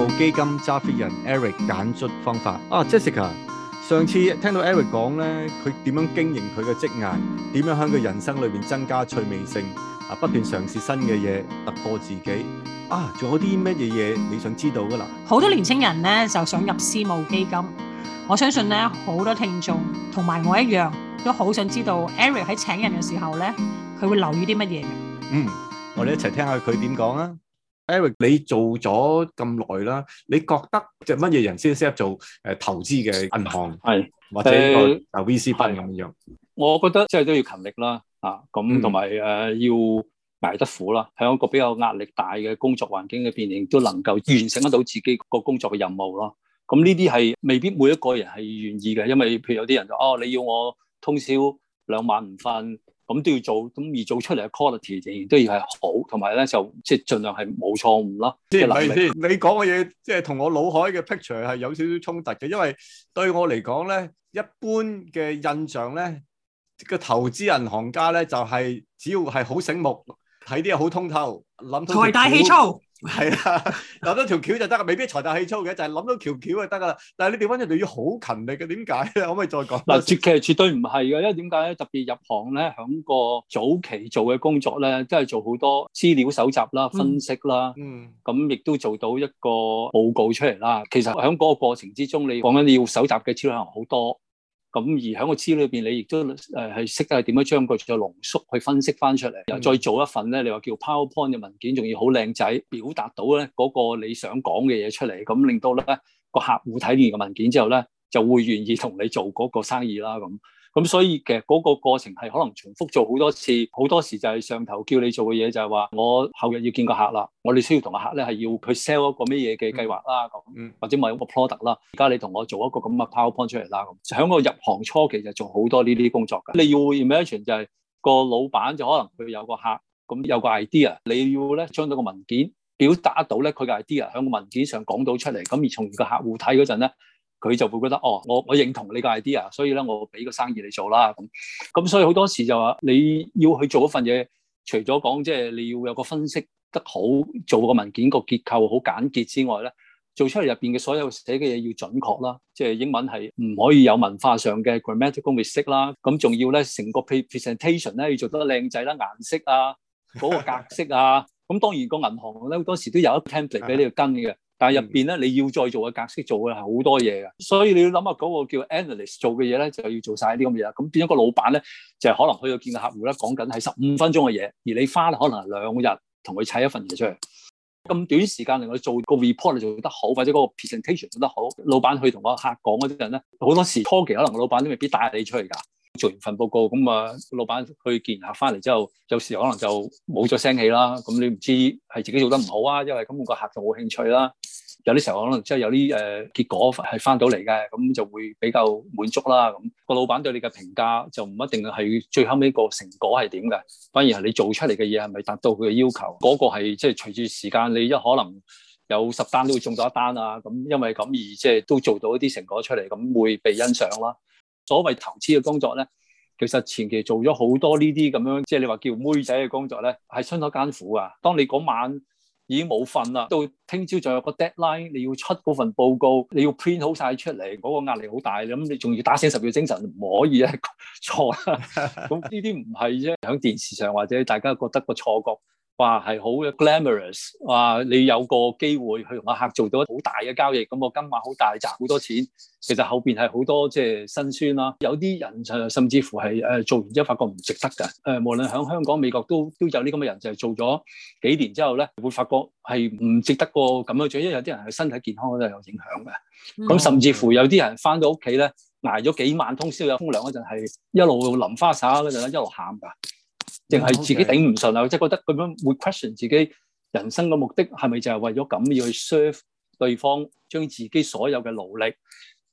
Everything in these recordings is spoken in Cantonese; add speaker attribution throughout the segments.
Speaker 1: 務基金揸 fit 人 Eric 揀卒方法Jessica， 上次聽到 Eric 講咧，佢點樣經營佢嘅職涯，點樣喺佢人生裏邊增加趣味性不斷嘗試新嘅嘢，突破自己仲有啲乜嘢你想知道噶啦？
Speaker 2: 好多年青人咧就想入私募基金，我相信咧好多聽眾同埋我一樣都好想知道 Eric 喺請人嘅時候咧，佢會留意啲乜嘢嘅。
Speaker 1: 我哋一齊聽下佢點講啊！Eric， 你做咗咁耐啦，你覺得即係乜嘢人先適合做投資嘅銀行，
Speaker 3: 係
Speaker 1: 或者呢個 VC fund 咁樣？
Speaker 3: 我覺得即係都要勤力啦，咁同埋要捱得苦啦，喺一個比較壓力大嘅工作環境裏邊，亦都能夠完成得到自己個工作嘅任務咯。咁呢啲係未必每一個人係願意嘅，因為譬如有啲人就你要我通宵2晚唔瞓。咁都要做，咁而做出嚟嘅 quality 仍然都要係好，同埋咧就即係盡量係冇錯誤啦。
Speaker 1: 即係咪先？你講嘅嘢即係同我腦海嘅 picture 係有少少衝突嘅，因為對我嚟講咧，一般嘅印象咧，個投資銀行家咧就係只要係好醒目，睇啲嘢好通透，諗到財大氣粗，係啦，諗到條橋就得，未必財大氣粗嘅，就係諗到條橋就得噶啦。但係你調翻轉就要好勤力嘅，點解咧？可唔可以再講？
Speaker 3: 嗱，其實絕對唔係嘅，因為點解咧？特別入行咧，響個早期做嘅工作咧，都係做好多資料搜集啦、分析啦，咁亦都做到一個報告出嚟啦。其實響嗰個過程之中，你講緊你要搜集嘅資料可能好多。咁而喺個資料裏邊，你亦都係識得點樣將佢再濃縮去分析翻出嚟，又再做一份咧，你話叫 PowerPoint 嘅文件，仲要好靚仔，表達到咧嗰個你想講嘅嘢出嚟，咁令到咧個客戶睇完個文件之後咧，就會願意同你做嗰個生意啦。咁所以其實嗰個過程係可能重複做好多次，好多時就係上頭叫你做嘅嘢就係話，我後日要見個客啦，我哋需要同個客咧係要佢 sell 一個咩嘢嘅計劃啦，或者某一個 product 啦，而家你同我做一個咁嘅 PowerPoint 出嚟啦，咁喺個入行初期就做好多呢啲工作㗎。你要 imagine 就係個老闆就可能佢有個客，咁有個 idea， 你要咧將到個文件表達到咧佢嘅 idea 喺個文件上講到出嚟，咁而從而個客戶睇嗰陣咧，佢就會覺得我認同你個 idea， 所以咧我俾個生意你做啦。咁所以好多時就話你要去做一份嘢，除咗講即係你要有個分析得好，做個文件個結構好簡潔之外咧，做出嚟入邊嘅所有寫嘅嘢要準確啦，即係英文係唔可以有文化上嘅 grammatical mistake 啦。咁仲要咧成個 presentation 咧要做得靚仔啦，顏色啊，嗰個格式啊。咁當然個銀行咧好多時都有一個 template 俾你去跟嘅。但係入邊咧，你要再做嘅格式做嘅係好多嘢嘅，所以你要諗下嗰個叫 analyst 做嘅嘢咧，就要做晒啲咁嘅嘢。咁變咗個老闆咧，就係可能去到見個客戶咧，講緊係15分鐘嘅嘢，而你花可能係2日同佢砌一份嘢出嚟。咁短時間令我做個 report 做得好，或者嗰個 presentation 做得好，老闆去同個客講嗰啲人咧，好多時初期可能個老闆都未必帶你出去㗎。做完份報告咁老闆去見客翻嚟之後，有時可能就冇咗聲氣啦。咁你唔知係自己做得唔好啊，因為咁個客就冇興趣啦。有啲時候可能即係有啲結果係翻到嚟嘅，咁就會比較滿足啦。咁個老闆對你嘅評價就唔一定係最後尾個成果係點嘅，反而係你做出嚟嘅嘢係咪達到佢嘅要求。嗰個係即係隨住時間，你可能有10單都會中到1單啊。咁因為咁而即係都做到一啲成果出嚟，咁會被欣賞啦。所謂投資嘅工作咧，其實前期做咗好多呢啲咁樣，即係你話叫妹仔嘅工作咧，係相當艱苦啊。當你嗰晚已經冇瞓啦，到聽朝仲有個 deadline， 你要出嗰份報告，你要 print 好晒出嚟，嗰個壓力好大。咁你仲要打醒10秒精神，唔可以錯啦。咁呢啲唔係啫，喺電視上或者大家覺得個錯覺。話係好 glamorous， 話你有個機會去同個客做到好大嘅交易，咁個金額好大，賺好多錢。其實後邊係好多即係辛酸啦。有啲人甚至乎係做完之後發覺唔值得㗎。無論喺香港、美國都有啲咁嘅人，就係做咗幾年之後咧，會發覺係唔值得個咁樣做，因為有啲人係身體健康都係有影響嘅。咁甚至乎有啲人翻到屋企咧，捱咗幾晚通宵有風涼嗰陣，係一路淋花灑嗰陣咧，一路喊㗎。淨係自己頂唔順啊！即係覺得咁樣會 question 自己人生嘅目的係咪就係為咗咁要去 serve 對方，將自己所有嘅勞力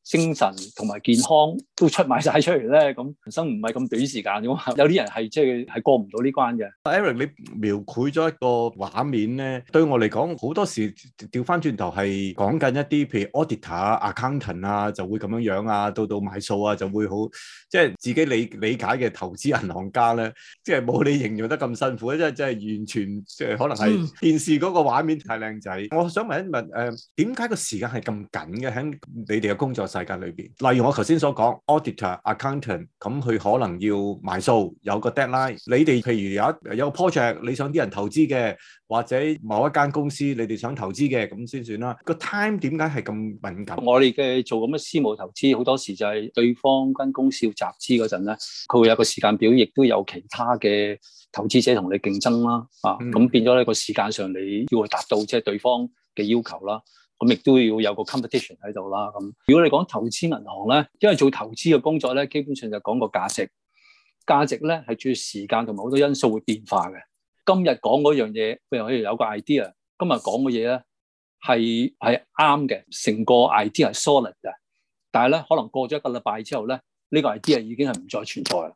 Speaker 3: 精神同埋健康都出賣晒出嚟咧，咁人生唔係咁短時間嘅嘛，有啲人係即係過唔到呢關嘅。
Speaker 1: Eric，你描繪咗一個畫面咧，對我嚟講好多時調翻轉頭係講緊一啲譬如 auditor 啊、accountant 啊，就會咁樣樣啊，到買數啊就會好，即係自己理解嘅投資銀行家咧，即係冇你形容得咁辛苦，即係完全即係可能係電視嗰個畫面太靚仔。我想問一問點解個時間係咁緊嘅喺你哋嘅工作世界裏邊？例如我頭先所講 auditor、accountant， 咁佢可能要埋數，有個 deadline。你哋譬如有個 project，你想啲人投資嘅，或者某一間公司你哋想投資嘅，咁先算啦。個 time 點解係咁敏感？
Speaker 3: 我哋嘅做咁嘅私募投資，好多時就係對方間公司要集資嗰陣咧，佢會有個時間表，亦都有其他嘅投資者同你競爭啦。咁變咗呢個時間上你要達到即係對方嘅要求啦。咁亦都要有個 competition 喺度啦。咁如果你講投資銀行咧，因為做投資嘅工作咧，基本上就講個價值。價值咧係主要時間同埋好多因素會變化嘅。今日講嗰樣嘢，譬如我哋有個 idea， 今日講嘅嘢咧係啱嘅，成個 idea 係 solid 嘅。但係咧，可能過咗一個禮拜之後咧，呢個 idea 已經係唔再存在啦。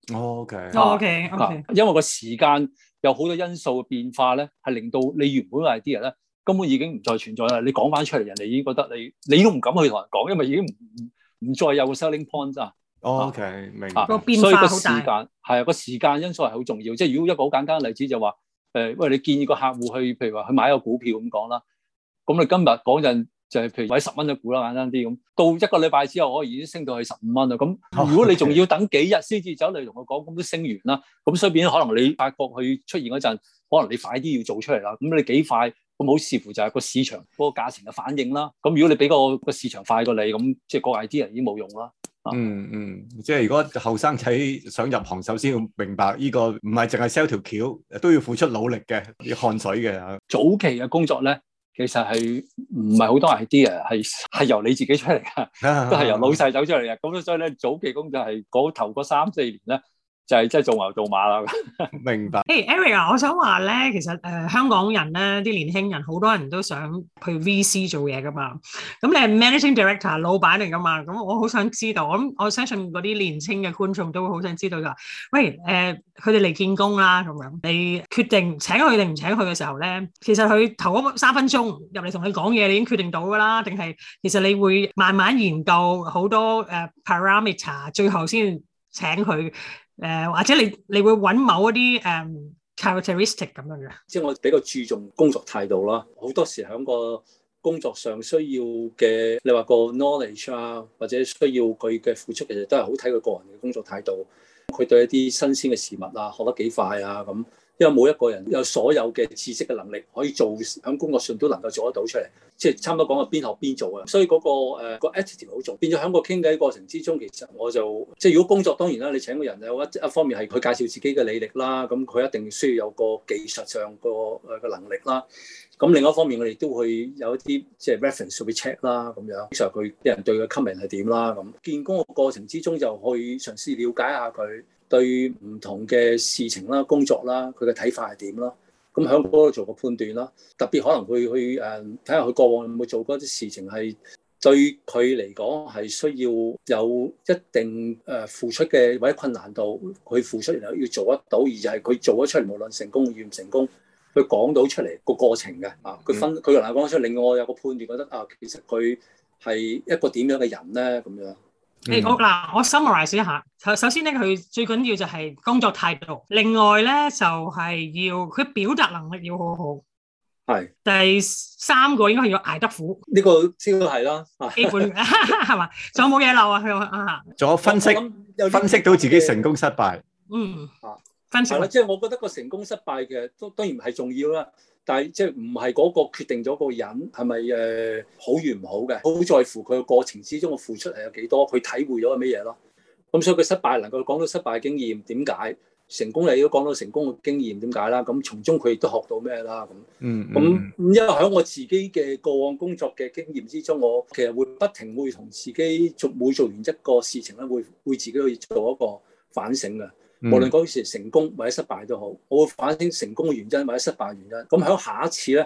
Speaker 2: OK，
Speaker 3: 因為個時間有好多因素嘅變化咧，係令到你原本嘅 idea 咧根本已經唔再存在啦。你講翻出嚟，人哋已經覺得你都唔敢去同人講，因為已經唔再有個 selling point 啊。
Speaker 1: OK，明白。
Speaker 2: 個變化好大。
Speaker 3: 所以個時間係個時間因素係好重要。即係如果一個好簡單嘅例子就話，喂，你建議個客戶去，譬如話去買一個股票咁講啦。咁你今日嗰陣就係譬如買10蚊嘅股啦，簡單啲咁。到一個禮拜之後，可以已經升到去15蚊啦。咁如果你仲要等幾日先至走嚟同佢講，咁都升完啦。咁所以變咗可能你發覺佢出現嗰陣，可能你快啲要做出嚟啦。咁你幾快？咁好視乎就係個市場嗰個價錢嘅反應啦。咁如果你俾個市場快過你，咁即係個 idea 已經冇用啦。
Speaker 1: 即係如果後生仔想入行，首先要明白呢個唔係淨係 sell 條橋，都要付出努力嘅，要汗水嘅。
Speaker 3: 早期嘅工作咧，其實係唔係好多 idea，係由你自己出嚟㗎，都係由老細走出嚟嘅。咁所以咧，早期工作係頭嗰3-4年咧，就係即係做牛做馬啦。
Speaker 1: 明白。
Speaker 2: Eric 啊，我想話咧，其實香港人咧，啲年輕人好多人都想去 VC 做嘢噶嘛。咁你係 Managing Director 老闆嚟噶嘛？咁我好想知道，我相信嗰啲年輕嘅觀眾都會好想知道㗎。喂，佢哋嚟見工啦，咁樣你決定請佢定唔請佢嘅時候咧，其實佢頭嗰3分鐘入嚟同你講嘢，你已經決定到㗎啦，定係其實你會慢慢研究好多parameter， 最後先請佢？或者你會揾某一啲characteristic 咁樣嘅，
Speaker 3: 即係我比較注重工作態度啦。好多時喺個工作上需要嘅，你話個 knowledge 啊，或者需要佢嘅付出，其實都係好睇佢個人嘅工作態度。佢對一啲新鮮嘅事物啊，學得幾快啊咁。因為冇一個人有所有嘅知識嘅能力可以做喺工作上都能夠做得到出嚟，即係差唔多講係邊學邊做啊。所以嗰個 attitude 好重要。變咗喺個傾偈過程之中，其實我就即係如果工作當然啦，你請個人有一方面係佢介紹自己嘅履歷啦，咁佢一定需要有個技術上個能力啦。咁另外一方面，我哋都會有一啲即係 reference 去 check 啦，咁樣，其實佢啲人對佢 comment 係點啦。咁見工嘅過程之中，就去嘗試了解下佢對唔同嘅事情啦、工作啦，佢嘅睇法係點啦。咁喺嗰度做個判斷啦。特別可能會去睇下佢過往有冇做過一啲事情係對佢嚟講係需要有一定付出嘅或者困難度，佢付出然後要做得到，而就係佢做咗出嚟，無論成功與唔成功。佢講到出嚟個過程嘅佢佢能夠講出嚟，令我有個判斷，覺得其實佢係一個點樣嘅人咧咁樣。
Speaker 2: 我 summarize 一下。首先咧，佢最緊要就係工作態度。另外咧，就係要佢表達能力要好好。係。第3個應該係要捱得苦。呢個先係啦。基本係嘛？仲有冇嘢漏啊？
Speaker 1: 仲有分析到自己成功失敗。
Speaker 3: 分析啦，即係我覺得個成功失敗嘅都當然係重要啦，但係即係唔係嗰個決定咗個人係咪好與唔好嘅，好在乎佢個過程之中嘅付出係有幾多，佢體會咗係乜嘢咯。咁所以佢失敗能夠講到失敗嘅經驗點解，成功你都講到成功嘅經驗點解啦。咁從中佢亦都學到咩啦咁。咁因為喺我自己嘅過往工作嘅經驗之中，我其實會不停會同自己每做完一個事情咧，會自己去做一個反省嘅。無論嗰時成功或者失敗都好，我會反省成功嘅原因或者失敗嘅原因。咁喺下一次咧，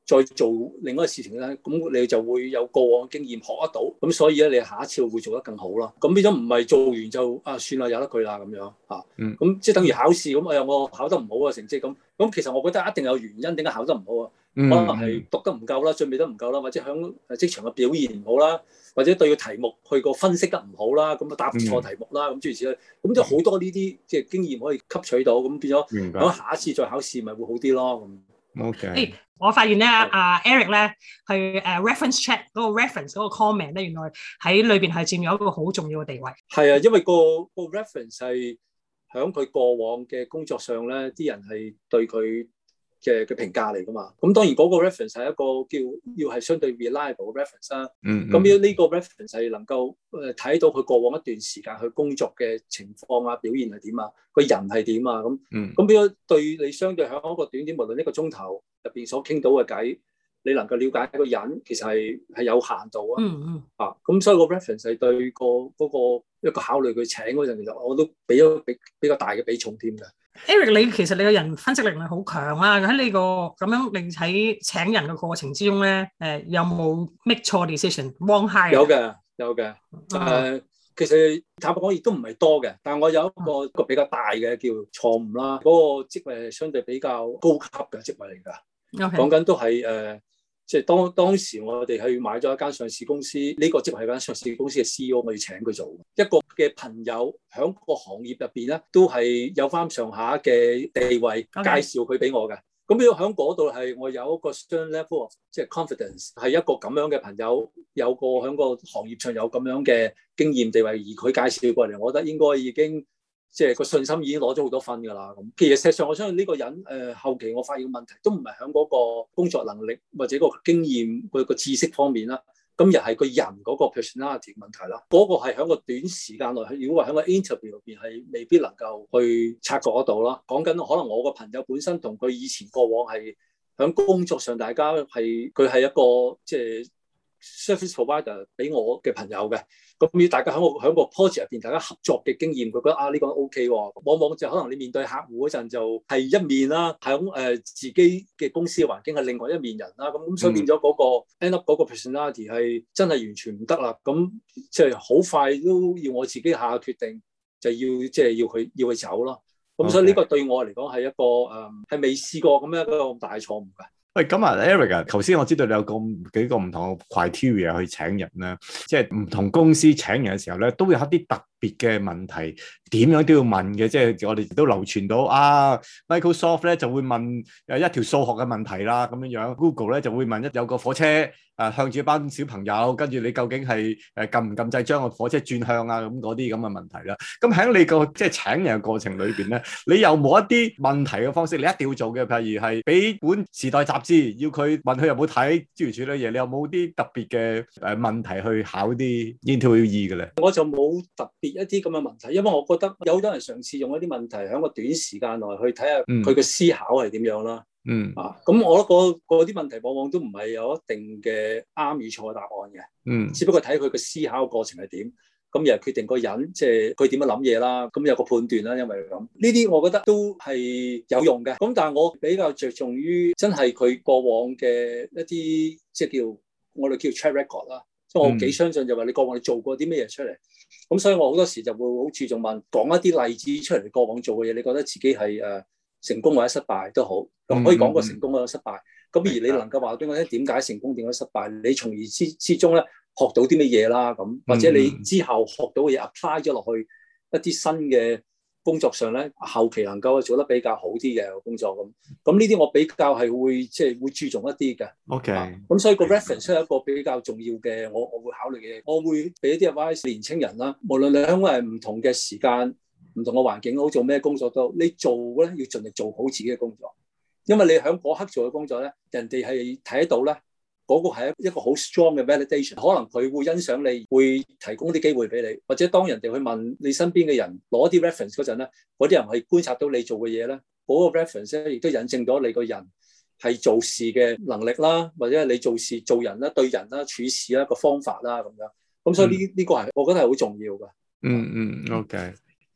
Speaker 3: 再做另一個事情咧，咁你就會有過往經驗學得到，咁所以咧你下一次會做得更好啦。咁變咗唔係做完就算啦，由得佢啦咁樣嚇。咁即係等於考試咁，我考得唔好嘅成績咁其實我覺得一定有原因點解考得唔好啊？可能係讀得唔夠啦，準備得唔夠啦，或者喺職場嘅表現唔好啦，或者對個題目去個分析得唔好啦，咁答錯題目啦，咁諸如此類，咁就好多呢啲即係經驗可以吸取到，咁變咗喺下一次再考試咪會好啲咯。
Speaker 1: OK，
Speaker 2: 我發現咧，Eric 咧去reference check 嗰個 reference 嗰個 comment 咧，原來喺裏邊係佔有一個好重要嘅地位。
Speaker 3: 係啊，因為個 reference 係喺佢過往嘅工作上咧，啲人係對佢嘅評價嚟噶嘛。咁當然嗰個 reference 係一個要係相對 reliable 嘅 reference 啦。咁呢個 reference 係能夠睇到佢過往一段時間去工作嘅情況啊、表現係點啊、個人係點啊咁變咗對你相對喺一個短無論一個鐘頭入邊所傾到嘅偈，你能夠了解一個人其實係有限度啊。咁所以個 reference 係對嗰個一個考慮佢請嗰陣，其實我都俾咗比較大嘅比重添嘅。
Speaker 2: Eric， 其實你個人分析力係好強啦。喺你個咁樣，你喺請人嘅過程之中咧，有冇 make 錯 decision？wrong hire？有嘅。其實坦白講，亦都唔係多嘅。但係我有一個比較大嘅叫錯誤啦。嗰個職位係相對比較高級嘅職位嚟㗎。講緊都係即係當時我哋去買咗一間上市公司，呢個職位係間上市公司嘅 CEO，我要請佢做。一個嘅朋友喺個行業入邊咧，都係有翻上下嘅地位，介紹佢俾我嘅。咁要喺嗰度係我有一個 certain level of 即係 confidence， 係一個咁樣嘅朋友，有個喺個行業上有咁樣嘅經驗地位，而佢介紹過嚟，我覺得應該已經即係個信心已經攞咗好多分㗎啦。咁其實事實上，我相信呢個人後期我發現問題都唔係喺嗰個工作能力或者個經驗個知識方面啦。咁又係個人嗰個 personality 問題啦，嗰個係喺個短時間內，如果話喺個 interview 入邊係未必能夠去察覺得到啦。講緊可能我個朋友本身同佢以前過往係喺工作上，大家係佢係一個即係 service provider 俾我嘅朋友嘅。咁要大家喺個 project 入邊，大家合作嘅經驗，佢覺得呢個 OK 喎。往往就可能你面對客戶嗰陣就係一面啦，喺自己嘅公司嘅環境係另外一面人啦。咁所以變咗嗰個 end up 嗰個 personality 係真係完全唔得啦。咁即係好快都要我自己下決定，就要即係要佢走咯。咁所以呢個對我嚟講係一個係未試過咁樣一個咁大嘅錯誤㗎。
Speaker 1: 喂，咁啊 Eric 啊，頭先我知道你有幾個唔同嘅 criteria 去請人啦，即係唔同公司請人嘅時候咧，都會有一啲特別嘅問題，點樣都要問嘅，即係我哋都流傳到Microsoft 咧就會問一條數學嘅問題啦，咁樣 Google 咧就會問有個火車向住一班小朋友，跟住你究竟係撳唔撳掣將個火車轉向啊，咁嗰啲咁嘅問題啦。咁喺你個即係請人嘅過程裏邊咧，你有冇一啲問題嘅方式你一定要做嘅？譬如係俾本時代雜誌要佢問佢有冇睇諸如此類嘢，你有冇啲特別嘅問題去考啲 interviewee 嘅咧？
Speaker 3: 我就冇特別一啲咁嘅問題，因為我覺得有好多人嘗試用一啲問題喺個短時間內去睇下佢嘅思考係點樣啦。咁我覺得嗰啲問題往往都唔係有一定嘅啱與錯嘅答案嘅。只不過睇佢嘅思考過程係點，咁又決定個人即係佢點樣諗嘢啦。咁有個判斷啦，因為咁呢啲我覺得都係有用嘅。咁但係我比較着重於真係佢過往嘅一啲即係我哋叫 track record 啦。即係我幾相信就話你過往你做過啲咩嘢出嚟。咁所以我好多時就會好注重講一啲例子出嚟，你過往做嘅嘢，你覺得自己係成功或者失敗都好，咁可以講個成功或者失敗。咁而你能夠話俾我聽點解成功點解失敗，你從而之中咧學到啲乜嘢啦，咁或者你之後學到嘅嘢 apply 咗落去一啲新嘅工作上咧，後期能夠做得比較好啲嘅工作咁呢啲我比較係會即係會注重一啲嘅。
Speaker 1: OK，
Speaker 3: 咁所以個 reference 係一個比較重要嘅，我會考慮嘅嘢。我會俾一啲 advice 年青人啦，無論你喺唔同嘅時間、唔同嘅環境好，做咩工作都好，你做咧要盡力做好自己嘅工作，因為你喺嗰刻做嘅工作咧，人哋係睇得到咧。嗰個係一個好 strong 嘅 validation， 可能佢會欣賞你，會提供啲機會俾你，或者當人哋去問你身邊嘅人攞啲 reference 嗰陣咧，嗰啲人係觀察到你做嘅嘢咧，嗰個 reference 咧亦都引證咗你個人係做事嘅能力啦，或者係你做事做人啦、對人啦、處事啦個方法啦咁樣。咁所以呢個係我覺得係好重要嘅。
Speaker 1: OK。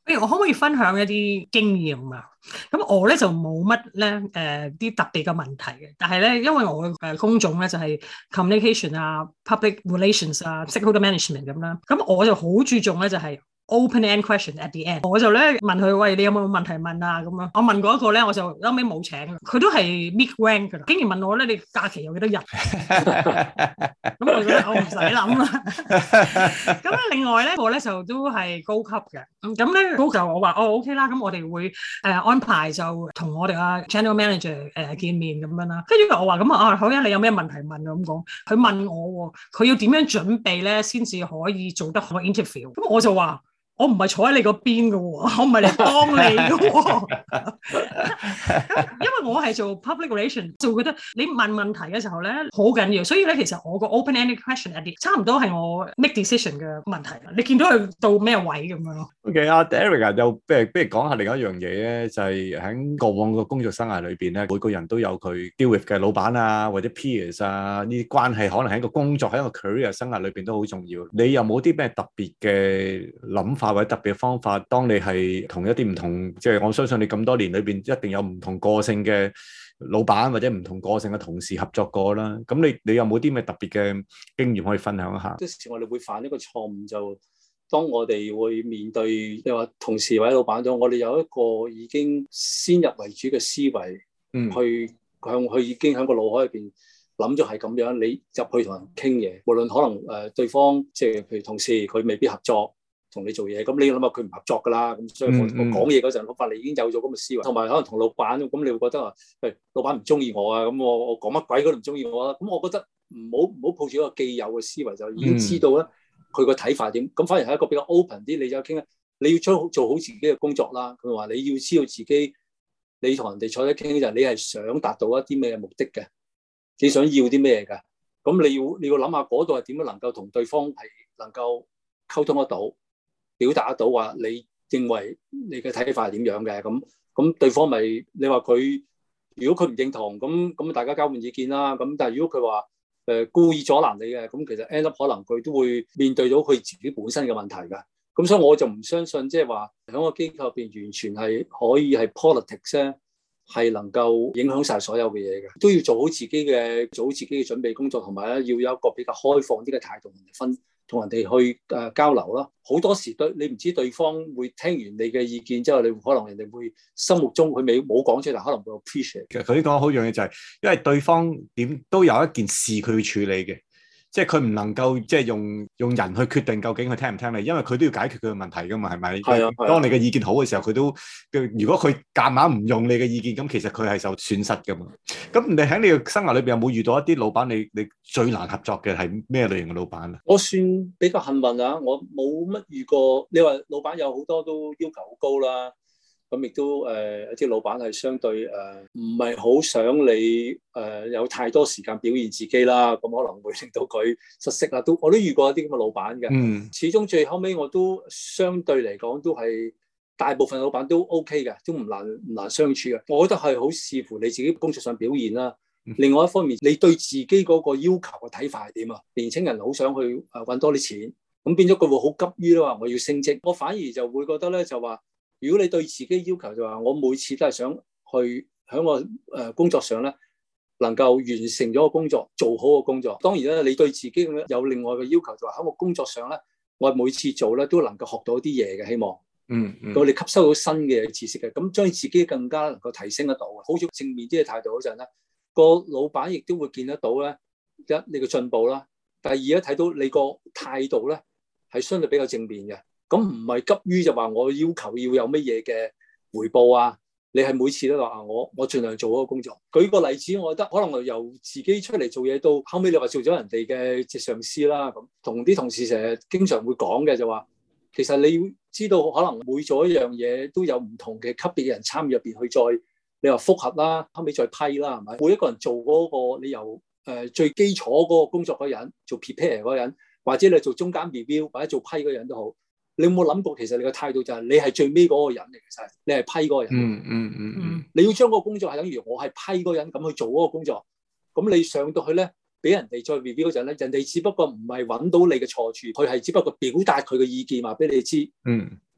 Speaker 2: 我可唔可以分享一啲經驗啊？咁我咧就冇乜咧啲特別嘅問題嘅，但係咧因為我嘅工種咧就係 communication 啊、public relations 啊、stakeholder management 咁啦，咁我就好注重咧就係open-end question at the end， 我就咧問佢，喂，你有冇問題問啊？咁樣我問過一個咧，我就後尾冇請佢，都係 mid rank 噶啦，竟然問我咧，你假期有幾多日？咁我覺得我唔使諗啦。咁另外咧，我咧就都係高級嘅，咁咧高級我話OK 啦，咁我哋會安排就同我哋嘅 general manager 見面咁樣啦。跟住我話咁好啊，你有咩問題問啊？咁講，佢問我佢要點樣準備咧，先至可以做得好 interview。咁我就話。我唔係坐喺你嗰邊嘅喎，我唔係嚟幫你嘅喎。因為我係做 public relation， 就覺得你問問題嘅時候咧好緊要，所以咧其實我個 open-ended question 一啲差唔多係我 make decision 嘅問題。你見到佢到咩位咁樣咯
Speaker 1: ？OK， Derek 又不如講下另一樣嘢咧，就係喺過往嘅工作生涯裏邊咧，每個人都有佢 deal with 嘅老闆啊，或者 peers 啊，呢啲關係可能喺一個工作喺一個 career 生涯裏邊都好重要。你有冇啲咩特別嘅諗法？或者特別嘅方法，當你係同一啲唔同，即係我相信你咁多年裏邊一定有唔同個性嘅老闆或者唔同個性嘅同事合作過啦。咁你有冇啲咩特別嘅經驗可以分享一下？
Speaker 3: 有時我哋會犯一個錯誤，就當我哋會面對你話同事或者老闆咗，我哋有一個已經先入為主嘅思維，去向佢已經喺個腦海入邊諗咗係咁樣，你入去同人傾嘢，無論可能對方即係譬如同事佢未必合作。同你做嘢，咁你諗下佢唔合作㗎啦，咁所以我講嘢嗰陣，我發你已經有咗咁嘅思維，同埋可能同老闆咁，你會覺得話，喂，老闆唔中意我啊，咁我講乜鬼佢都唔中意我啊，咁我覺得唔好抱住一個既有嘅思維，就已經知道咧佢個睇法點，咁反而係一個比較 open 啲，你就傾咧，你要做好自己嘅工作啦。佢話你要知道自己，你同人哋坐低傾就係你係想達到一啲咩目的嘅，你想要啲咩㗎，咁你要諗下嗰度係點樣能夠同對方係能夠溝通得到。表達得到話，你認為你嘅睇法係點樣嘅？咁對方咪你話佢，如果佢唔認同，咁大家交換意見啦。咁但係如果佢話故意阻攔你嘅，咁其實 end up 可能佢都會面對到佢自己本身嘅問題㗎。咁所以我就唔相信，即係話喺個機構入邊完全係可以係 politics 咧，係能夠影響晒所有嘅嘢嘅。都要做好自己嘅準備工作，同埋咧要有一個比較開放啲嘅態度同人哋去交流啦，好多時你唔知對方會聽完你嘅意見之後，你可能人哋會心目中佢冇講出嚟，可能會 appreciate。其實
Speaker 1: 佢講好樣嘢就係，因為對方點都有一件事佢要處理嘅，即係佢唔能夠即係用人去決定究竟佢聽唔聽你，因為佢都要解決佢嘅問題噶嘛，係咪？係啊。當你嘅意見好嘅時候，佢都如果佢夾硬唔用你嘅意見，咁其實佢係受損失噶嘛。咁你喺你嘅生涯裏邊有冇遇到一啲老闆你最難合作嘅係咩類型嘅老闆啊？
Speaker 3: 我算比較幸運啊，我冇乜遇過。你話老闆有好多都要求好高啦，咁亦都一啲老闆係相對唔係好想你有太多時間表現自己啦，咁可能會令到佢失色啦。我都遇過一啲咁嘅老闆嘅。始終最後尾我都相對嚟講都係大部分老闆都 OK 嘅，都唔難相處嘅。我覺得係好視乎你自己工作上表現啦。另外一方面，你對自己嗰個要求嘅睇法係點啊？年輕人好想去搵多啲錢，咁變咗佢會好急於咧話我要升職。我反而就會覺得咧就話，如果你對自己要求就話，我每次都係想去喺我工作上咧能夠完成咗個工作，做好個工作。當然咧，你對自己有另外嘅要求就話喺我工作上咧，我每次做咧都能夠學到啲嘢嘅，希望。咁你吸收到新嘅知識嘅，咁將自己更加能夠提升得到。好似正面啲嘅態度嗰陣咧，個老闆亦都會見得到咧，你嘅進步啦。第二咧，睇到你個態度咧係相對比較正面嘅，咁唔係急於就話我要求要有乜嘢嘅回報啊。你係每次都話我盡量做嗰個工作。舉個例子，我覺得可能由自己出嚟做嘢到後尾，你話做咗人哋嘅上司啦，咁同啲同事成日經常會講嘅就話，其實你要知道可能每做一樣嘢都有唔同嘅級別嘅人參與入邊去再。你話複合啦，後尾再批啦，係咪？每一個人做嗰個，你由最基礎嗰個工作嗰人做 prepare 嗰人，或者你做中間 review 或者做批嗰人都好，你有冇諗過其實你嘅態度就係你係最尾嗰個人嚟嘅，其實你係批嗰個人。你要將嗰個工作係等於我係批嗰人咁去做嗰個工作，咁你上到去咧，俾人哋再 review 嗰陣咧，人哋只不過唔係揾到你嘅錯處，佢係只不過表達佢嘅意見話俾你知。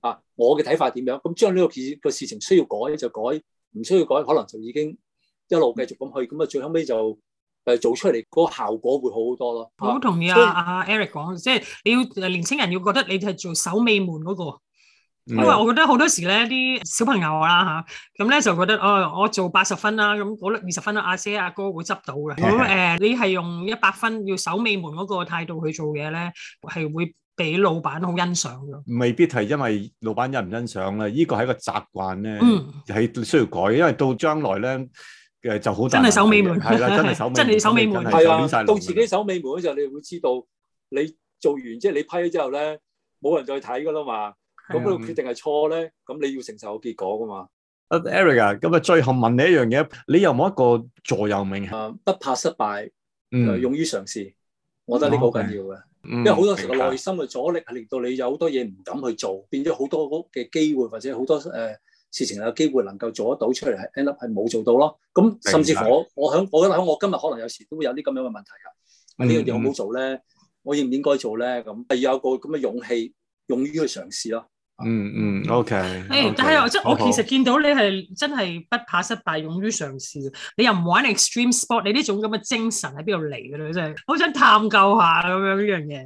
Speaker 4: 我嘅睇法點樣？咁將呢個事情需要改就改，唔需要改可能就已經一路繼續咁去，咁啊最後尾就做出嚟嗰個效果會好好多咯。
Speaker 2: 我好同意阿 Eric 講，即係你要年青人要覺得你係做守尾門嗰個。因為我覺得好多時咧，啲小朋友啦咁咧就覺得我做80分啦，咁嗰20分阿姐阿哥會執到嘅。咁你係用100分要守尾門嗰個態度去做嘢咧，係會俾老闆好欣賞嘅。
Speaker 1: 未必係因為老闆欣唔欣賞咧，呢個係一個習慣咧，係需要改，因為到將來咧就好大。真係守尾門，係啦，真係守尾門，真係守尾門，
Speaker 4: 係啊，到自己守尾門嗰時候，你會知道你做完即係你批咗之後咧，冇人再睇噶啦嘛。咁佢決定係錯咧，咁你要承受個結果噶嘛。
Speaker 1: Eric 啊，咁啊最後問你一樣嘢，你有冇一個座右銘
Speaker 4: 不怕失敗，勇於嘗試。我覺得呢個好緊要嘅，因為好多時個內心嘅阻力係令到你有好多嘢唔敢去做，變咗好多嘅機會或者好多事情有機會能夠做得到出嚟，係 end up 係冇做到咯。咁甚至乎我覺得喺我今日可能有時都會有啲咁樣嘅問題㗎。呢樣嘢我冇做咧，我應唔應該做咧？咁係要有個咁嘅勇氣，勇於去嘗試咯。
Speaker 1: OK。
Speaker 2: 但係即係我其實見到你係真係不怕失敗，勇於嘗試。你又唔玩 extreme sport，你呢種咁嘅精神喺邊度嚟嘅咧？真係好想探究下咁樣呢樣嘢。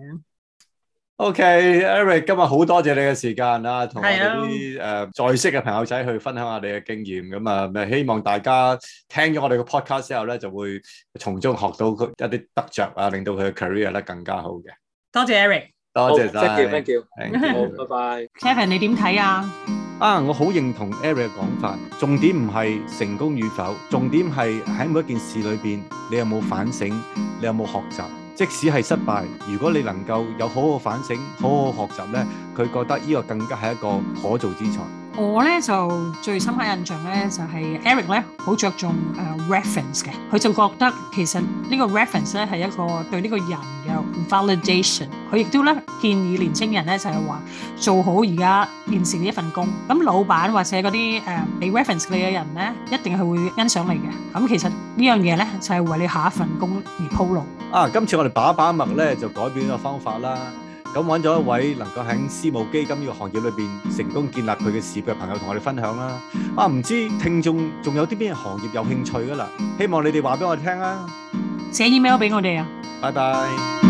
Speaker 1: OK，Eric， 今日好多謝你嘅時間啦，同我哋啲在識嘅朋友仔去分享下你嘅經驗。咁啊，希望大家聽咗我哋嘅 podcast 之後咧，就會從中學到一啲得着啊，令到佢嘅 career 咧更加好嘅。
Speaker 2: 多謝 Eric。
Speaker 1: 多謝晒
Speaker 4: ，thank you，好，拜拜。
Speaker 2: Kevin， 你點睇啊？
Speaker 1: 我好認同 Eric 嘅講法，重點唔係成功與否，重點係喺每一件事裏邊，你有冇反省，你有冇學習。即使係失敗，如果你能夠有好好反省、好好學習咧，佢覺得呢個更加係一個可造之材。
Speaker 2: 我咧就最深刻印象咧就係 Eric 咧好着重reference 嘅，佢就覺得其實呢個 reference 咧係一個對呢個人嘅 validation。佢亦都咧建議年青人咧就係話做好而家現時嘅一份工，咁老闆或者嗰啲俾 reference 你嘅人咧，一定係會欣賞你嘅。咁其實呢樣嘢咧就係為你下一份工而鋪路。
Speaker 1: 今次我哋把脈咧就改變咗方法啦。咁揾咗一位能夠喺私募基金呢個行業裏邊成功建立佢嘅事業嘅朋友同我哋分享啦。唔知聽眾仲有啲咩行業有興趣㗎啦？希望你哋話俾我哋聽啊！
Speaker 2: 寫 email 俾我哋啊！
Speaker 1: 拜拜。